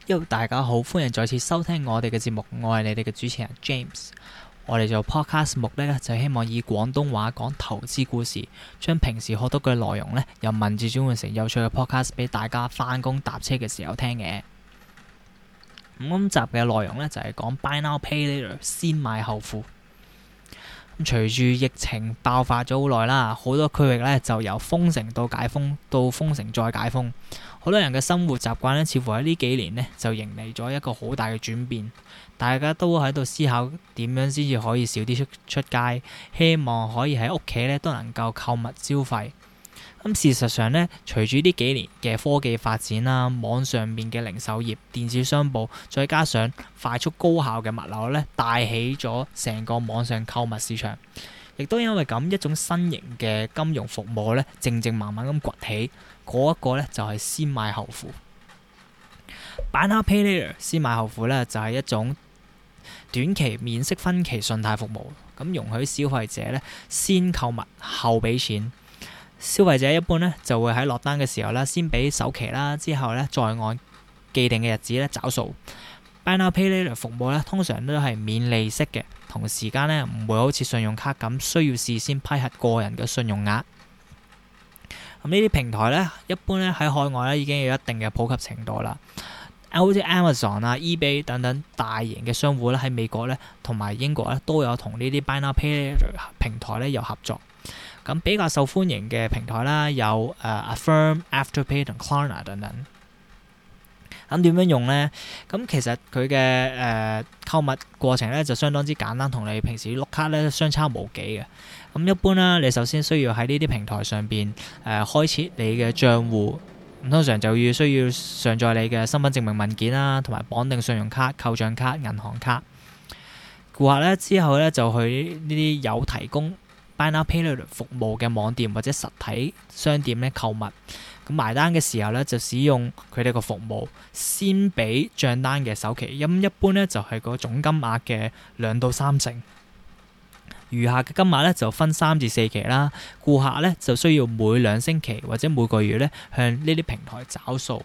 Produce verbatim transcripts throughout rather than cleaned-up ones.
Yo， 大家好，歡迎再次收聽我哋嘅節目，我係你哋嘅主持人 James。我哋做 podcast 目的咧，就希望以廣東話講投資故事，將平時學到嘅內容咧，由文字轉換成有趣嘅 podcast 俾大家翻工搭車嘅時候聽嘅。咁今集嘅內容咧就係講 Buy Now Pay Later 先買後付。咁隨住疫情爆發咗好耐啦，好多區域咧就由封城到解封，到封城再解封，好多人嘅生活習慣咧，似乎喺呢幾年咧就迎嚟咗一個好大嘅轉變。大家都喺度思考點樣先至可以少啲出出街，希望可以喺屋企咧都能夠購物消費。咁事實上咧，隨住呢幾年嘅科技發展啦，網上面嘅零售業、電子商務，再加上快速高效嘅物流咧，帶起咗成個網上購物市場。亦都因為咁一種新型嘅金融服務咧，靜靜慢慢咁崛起。嗰一個咧就係先買後付。Buy Now Pay Later 先買後付咧，就係一種短期免息分期信貸服務，咁容許消費者咧先購物後俾錢。消費者一般咧就會喺落單嘅時候咧，先俾首期啦，之後咧再按既定嘅日子咧找數。Buy Now Pay Later 服務咧通常都係免利息嘅，同時間咧唔會好似信用卡咁需要事先批核個人嘅信用額。咁呢啲平台咧，一般咧喺海外咧已經有一定嘅普及程度啦。好似 Amazon 啊、eBay 等等大型嘅商戶咧，喺美國咧同埋英國咧都有同呢啲 Buy Now Pay Later 平台咧有合作。咁比較受歡迎嘅平台啦，有誒、uh, Affirm、Afterpay 同 Klarna 等等。咁點樣用咧？咁其實佢嘅誒購物過程咧就相當之簡單，同你平時碌卡咧相差無幾嘅。咁一般啦，你首先需要喺呢啲平台上邊誒、呃、開設你嘅賬戶，咁通常就要需要上載你嘅身份證明文件啦，同埋綁定信用卡、扣賬卡、銀行卡。顧客咧之後咧就去呢啲有提供Buy Now Pay Later 服務嘅網店或者實體商店咧購物，咁埋單嘅時候咧就使用佢哋個服務，先俾賬單嘅首期，咁一般咧就係個總金額嘅兩到三成，餘下嘅金額咧就分三至四期啦。顧客咧就需要每兩星期或者每個月咧向呢啲平台找數。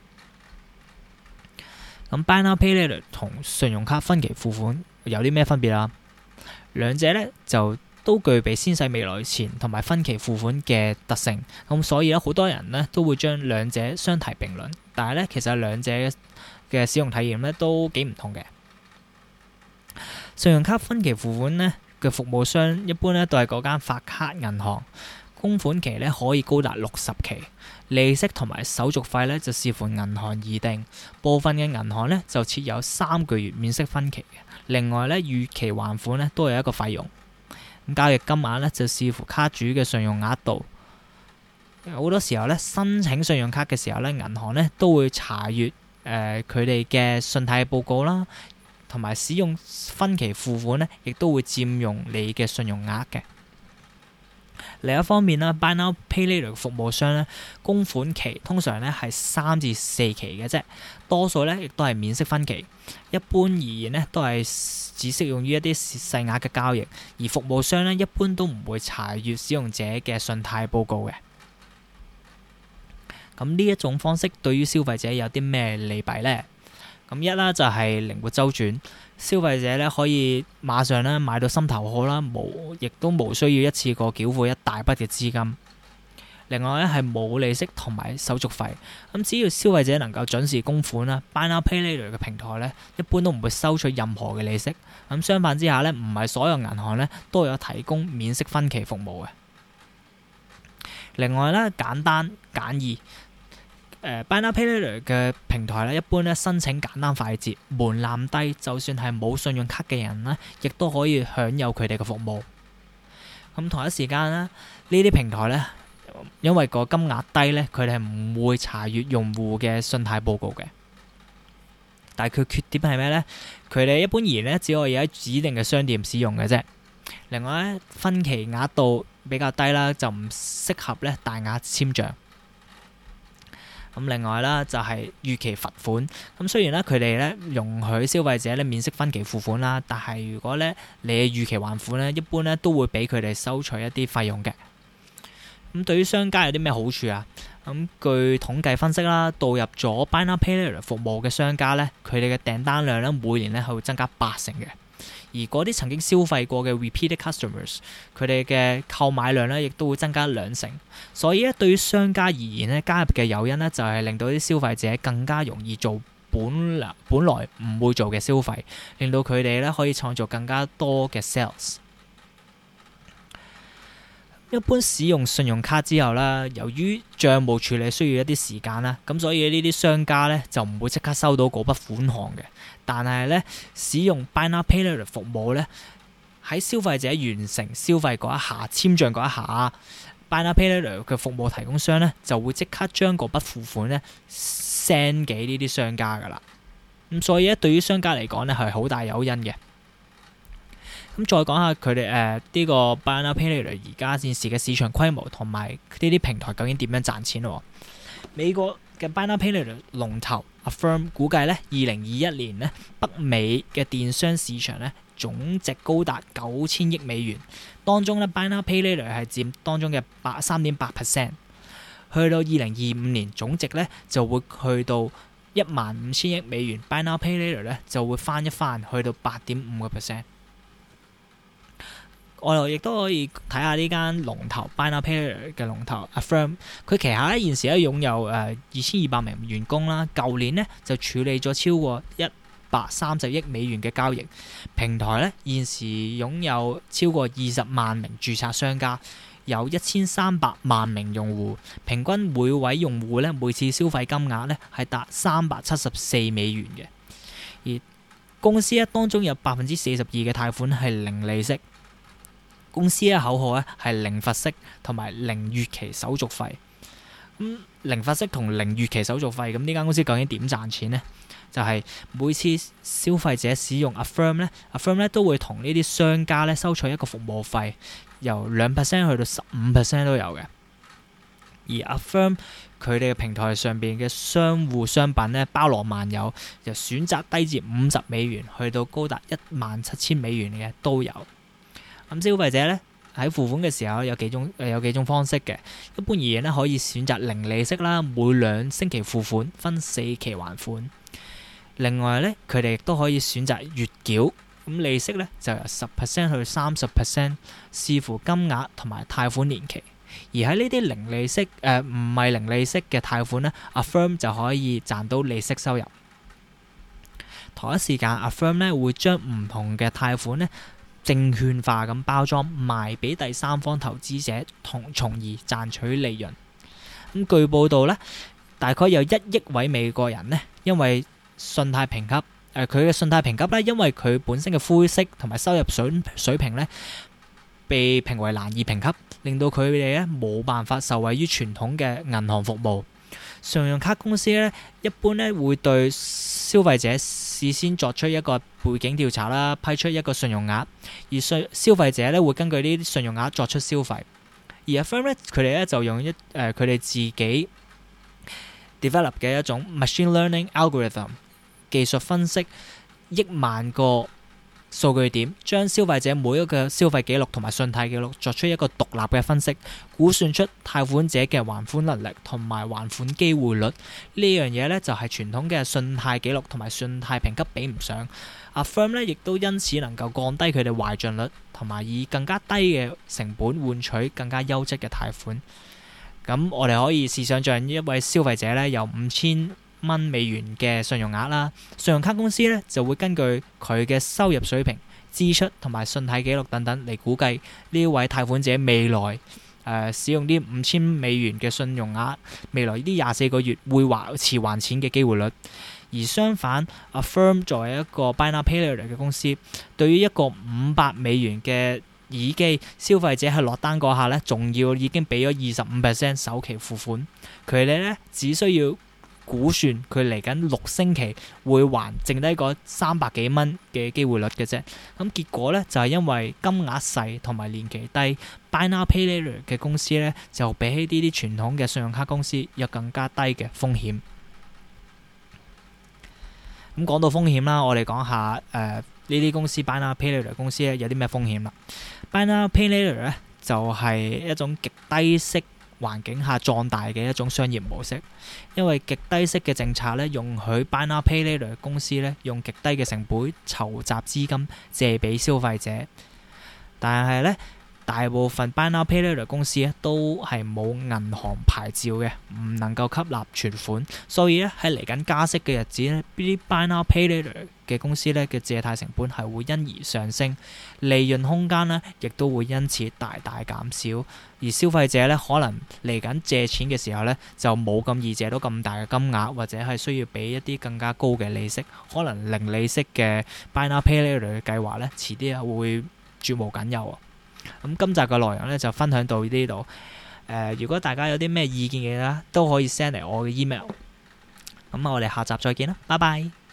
咁 Buy Now Pay Later 同信用卡分期付款有啲咩分別啊？兩者咧就都具備先使未來錢同埋分期付款嘅特性，咁所以咧好多人咧都會將兩者相提並論，但係咧其實兩者嘅使用體驗咧都幾唔同嘅。信用卡分期付款咧嘅服務商一般咧都係嗰間發卡銀行，供款期咧可以高達六十期，利息同埋手續費咧就視乎銀行而定，部分嘅銀行咧就設有三個月免息分期嘅，另外咧逾期還款咧都有一個費用。咁交易金額咧就視乎卡主嘅信用額度，好多時候咧申請信用卡嘅時候咧，銀行咧都會查閱誒佢哋嘅信貸報告啦，同埋使用分期付款咧，亦都會佔用你嘅信用額嘅。另一方面啦，Buy Now Pay Later 服務商咧，供款期通常咧係三至四期嘅啫，多數咧亦都係免息分期。一般而言咧，都係只適用於一啲細額嘅交易，而服務商咧一般都唔會查閱使用者嘅信貸報告嘅。咁呢一種方式對於消費者有啲咩利弊呢？咁一啦就係靈活周轉，消費者咧可以馬上咧買到心頭好啦，無亦都無需要一次過繳付一大筆嘅資金。另外咧係冇利息同埋手續費，咁只要消費者能夠準時供款啦，Buy Now Pay Later 嘅平台咧一般都唔會收取任何嘅利息。咁相反之下咧，唔係所有銀行咧都有提供免息分期服務嘅。另外咧簡單簡易。誒、uh, Buy Now Pay Later 嘅平台咧，一般咧申請簡單快捷，門檻低，就算係冇信用卡嘅人咧，亦都可以享有佢哋嘅服務。咁同一時間咧，呢啲平台咧，因為個金額低咧，佢哋係唔會查閱用戶嘅信貸報告嘅。但係佢缺點係咩咧？佢哋一般而言咧，只可以喺指定嘅商店使用嘅啫。另外咧，分期額度比較低啦，就唔適合咧大額簽賬。咁另外啦，就係逾期罰款。咁雖然咧，佢哋咧容許消費者咧免息分期付款啦，但係如果咧你逾期還款咧，一般咧都會俾佢哋收取一啲費用嘅。 咁對於商家有啲咩好處啊？咁據統計分析啦，導入咗 Buy Now Pay Later 服務嘅商家咧，佢哋嘅訂單量咧每年咧係會增加八成嘅。而嗰啲曾經消費過嘅 repeated customers，佢哋嘅購買量咧亦都會增加兩成。所以咧，對於商家而言咧，加入嘅誘因咧就係令到啲消費者更加容易做本來本來唔會做嘅消費，令到佢哋咧可以創造更加多嘅 sales。一般使用信用卡之後啦，由於帳務處理需要一啲時間啦，咁所以呢啲商家咧就唔會即刻收到嗰筆款項嘅。但係咧，使用 Buy Now Pay Later 服務咧，喺消費者完成消費嗰一下，簽帳嗰一下 Buy Now Pay Later 嘅服務提供商咧就會即刻將嗰筆付款咧 send 給呢啲商家噶啦。咁所以咧，對於商家嚟講咧係好大誘因嘅。咁再講下佢哋誒呢個 Buy Now Pay Later 而家現時嘅市場規模同埋呢啲平台究竟點樣賺錢咯？美國嘅 Buy Now Pay Later 龍頭 Affirm 估計咧，二零二一年咧北美嘅電商市場咧總值高達九千億美元，當中咧 Buy Now Pay Later 係佔當中嘅八三點八 percent， 去到二零二五年總值咧就會去到一萬五千億美元 ，Buy Now Pay Later 咧就會翻一翻去到八點五個 percent。我哋亦都可以睇下呢間龍頭 Buy Now Pay Later 嘅龍頭 Affirm， 佢旗下咧現時咧擁有誒二千二百名員工啦，舊年咧就處理咗超過一百三十億美元嘅交易，平台咧現時擁有超過二十萬名註冊商家，有一千三百萬名用戶，平均每位用戶咧每次消費金額咧係達三百七十四美元嘅，而公司咧當中有百分之四十二嘅貸款係零利息。公司嘅口號咧係零罰息同埋零逾期手續費。咁零罰息同零逾期手續費，咁呢間公司究竟點賺錢呢？就係、是、每次消費者使用 Affirm 咧 ，Affirm 咧都會同呢啲商家咧收取一個服務費，由兩 percent 去到十五 percent 都有嘅。而 Affirm 佢哋嘅平台上邊嘅商戶商品咧包羅萬有，由選擇低至五十美元去到高達一萬七千美元嘅都有。咁消費者咧喺付款嘅時候有幾種誒有幾種方式嘅。一般而言咧可以選擇零利息啦，每兩星期付款，分四期還款。另外咧佢哋亦都可以選擇月繳，咁利息咧就由十 percent 去三十 percent， 視乎金額同埋貸款年期。而喺呢啲零利息誒唔係零利息嘅貸款咧 ，Affirm 就可以賺到利息收入。同一時間 Affirm 咧會將唔同嘅貸款咧證券化咁包裝賣俾第三方投資者，同從而賺取利潤。咁據報道咧，大概有一億位美國人咧，因為信貸評級誒佢嘅信貸評級咧，因為佢本身嘅灰息同埋收入水水平咧，被評為難以評級，令到佢哋咧冇辦法受惠於傳統嘅銀行服務。信用卡公司咧一般咧會對消費者事先作出一個背景調查啦，批出一個信用額，而信消費者咧會根據呢啲信用額作出消費。而 Affirm 咧佢哋咧就用一誒佢哋自己 develop 嘅一種 machine learning algorithm 技術分析億萬個數據點，將消費者每一個消費記錄同埋信貸記錄作出一個獨立嘅分析，估算出貸款者嘅還款能力同埋還款機會率。呢樣嘢咧就係傳統嘅信貸記錄同埋信貸評級比唔上。Affirm 咧亦都因此能夠降低佢哋壞賬率，同埋以更加低嘅成本換取更加優質嘅貸款。咁我哋可以試想像一位消費者咧有五千蚊美元嘅信用額啦，信用卡公司咧就會根據佢嘅收入水平、支出同埋信貸記錄等等嚟估計呢位貸款者未來誒、呃、使用啲五千美元嘅信用額，未來呢啲廿四個月會還遲還錢嘅機會率。而相反 ，Affirm 作為一個 Buy Now Pay Later 嘅公司，對於一個五百美元嘅耳機，消費者喺落單嗰下咧，仲要已經俾咗二十五 percent 首期付款，佢哋咧只需要估算佢嚟緊六星期會還剩低嗰三百幾蚊嘅機會率嘅啫。咁結果咧就係、是、因為金額細同埋年期低 ，Buy Now Pay Later 嘅公司咧就比起呢啲傳統嘅信用卡公司有更加低嘅風險。咁講到風險啦，我哋講下誒呢啲公司 Buy Now Pay Later 公司咧有啲咩風險啦。Buy Now Pay Later 咧就係、是、一種極低息環境下壯大嘅一種商業模式。因為極低息嘅政策咧，容許 Buy Now Pay Later 公司咧用極低嘅成本籌集資金借俾消費者，但係咧，大部分 Buy Now Pay Later 公司咧都係冇銀行牌照嘅，唔能夠吸納存款，所以咧喺嚟緊加息嘅日子咧，呢啲 Buy Now Pay Later 嘅公司咧嘅借貸成本係會因而上升，利潤空間咧亦都會因此大大減少，而消費者咧可能嚟緊借錢嘅時候咧就冇咁易借到咁大嘅金額，或者係需要俾一啲更加高嘅利息，可能零利息嘅 Buy Now Pay Later 嘅計劃咧遲啲啊會絕無僅有啊！咁今集嘅內容咧就分享到呢度。誒、呃，如果大家有啲咩意見嘅咧，都可以 send 嚟我嘅 email。咁我哋下集再見啦，拜拜。